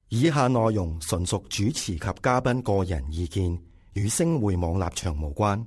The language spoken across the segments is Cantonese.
以下內容純屬主持及嘉賓個人意見，與星匯網立場無關。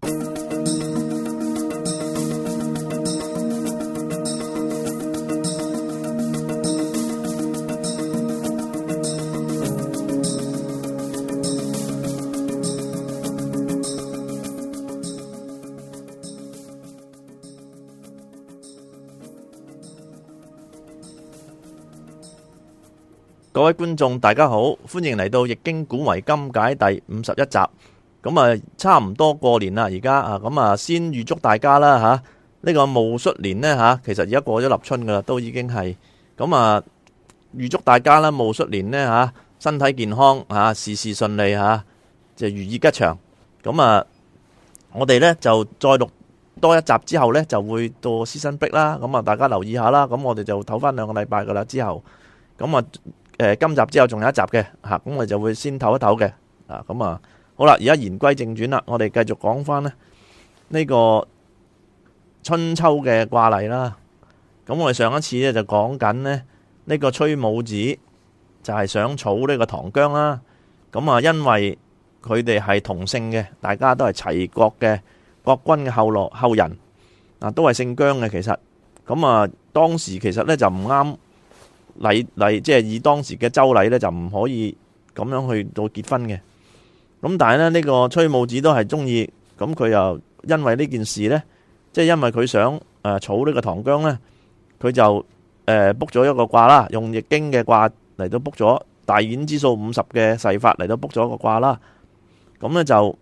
各位觀眾大家好，歡迎嚟到《易經古謎今解》第51集。咁啊，差唔多過年啦，而家啊，咁啊，先預祝大家啦吓，呢個戊戌年呢吓，其實而家過咗立春噶啦，都已經係咁啊，預祝大家啦，戊戌年呢吓，身體健康吓，事事順利吓，就如意吉祥。咁啊，我哋呢就再錄多一集之後呢，就會到Season Break啦。咁啊，大家留意下啦。咁我哋就唞翻2個禮拜噶啦，之後咁啊。今集之後仲有一集嘅吓，咁我哋就會先唞一唞嘅啊。咁啊，好啦，而家言歸正傳啦，我哋繼續講翻呢個春秋嘅卦例啦。咁我哋上一次咧就講緊呢個崔武子就係想儲呢個唐姜啦。咁啊，因為佢哋係同姓嘅，大家都係齊國嘅國君嘅後人啊，都係姓姜嘅。其實咁啊，當時其實咧就唔啱。即係以當時嘅周禮咧，就唔可以咁樣去到結婚嘅。咁但係咧，呢個崔武子都係中意，咁佢又因為呢件事咧，即係因為佢想儲呢個唐姜咧，佢就卜咗一個卦啦，用易經嘅卦嚟到卜咗大衍之數50嘅誓法嚟到卜咗一個卦啦。咁咧就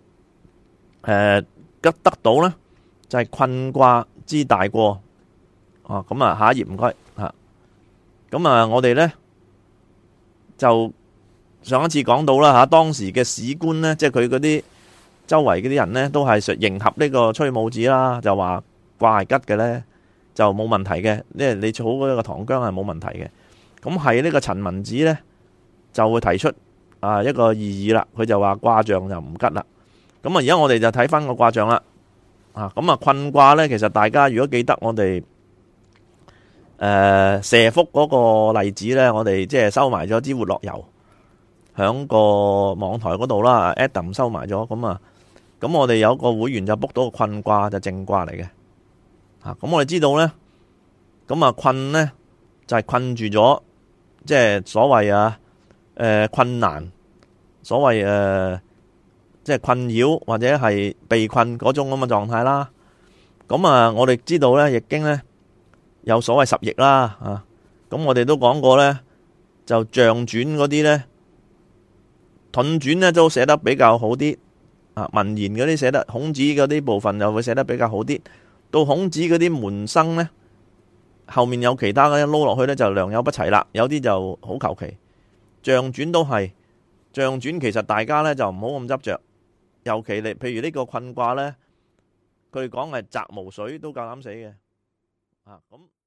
得到咧就係困卦之大過。哦，咁啊，下一頁唔該吓。咁啊，我哋呢就上一次講到啦吓，當時嘅史官呢，即係佢嗰啲周圍嗰啲人呢，都係迎合呢個崔武子啦，就話卦係吉嘅呢，就冇問題嘅，因為你儲嗰個唐姜係冇問題嘅。咁係呢個陳文子呢，就會提出一個異議啦，佢就話卦象就唔吉啦。咁啊，而家我哋就睇翻個卦象啦。咁啊，困卦呢，其實大家如果記得我哋射覆嗰個例子呢，我哋即係收埋咗支活絡油響個網台嗰度啦。Adam 收埋咗，咁我哋有個會員就卜到個困卦，就正卦嚟嘅。咁我哋知道呢，咁啊困呢就係困住咗，即係所謂困難，所謂即係困擾或者係被困嗰種咁嘅狀態啦。咁啊，我哋知道呢，易經呢有所謂十翼啦，咁我哋都講過呢，就象傳嗰啲呢，盾傳呢都寫得比較好啲，文言嗰啲寫得，孔子嗰啲部分就會寫得比較好啲。到孔子嗰啲門生呢，後面有其他嘅撈落去呢，就良莠不齊啦，有啲就好求其。象傳都係象傳，其實大家呢就唔好咁執着，尤其你譬如呢個困卦呢，佢哋講係澤無水都夠膽死嘅。咁